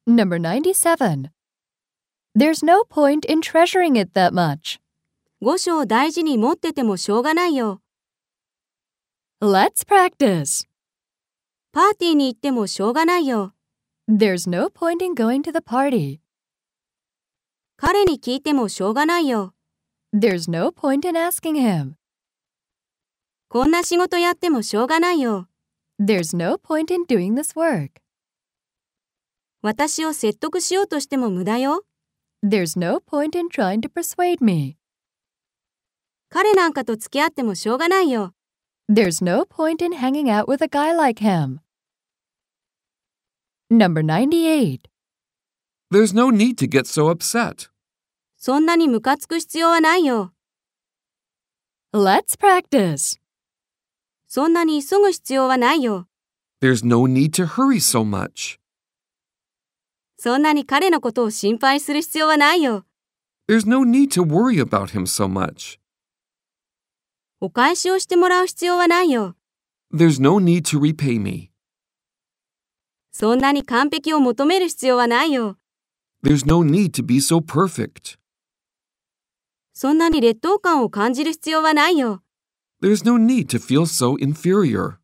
Number 97. There's no point in treasuring it that much. 五章大事に持っててもしょうがないよ。 Let's practice. パーティーに行ってもしょうがないよ。 There's no point in going to the party. 彼に聞いてもしょうがないよ。 There's no point in asking him. こんな仕事やってもしょうがないよ。 There's no point in doing this work. 私を説得しようとしても無駄よ。 There's no point in trying to persuade me. 彼なんかと付き合ってもしょうがないよ。 There's no point in hanging out with a guy like him. Number 98. There's no need to get so upset. そんなにムカつく必要はないよ。 Let's practice. そんなに急ぐ必要はないよ。 There's no need to hurry so much. そんなに彼のことを心配する必要はないよ。 There's no need to worry about him so much. お返しをしてもらう必要はないよ。 There's no need to repay me. そんなに完璧を求める必要はないよ。 There's no need to be so perfect. そんなに劣等感を感じる必要はないよ。 There's no need to feel so inferior.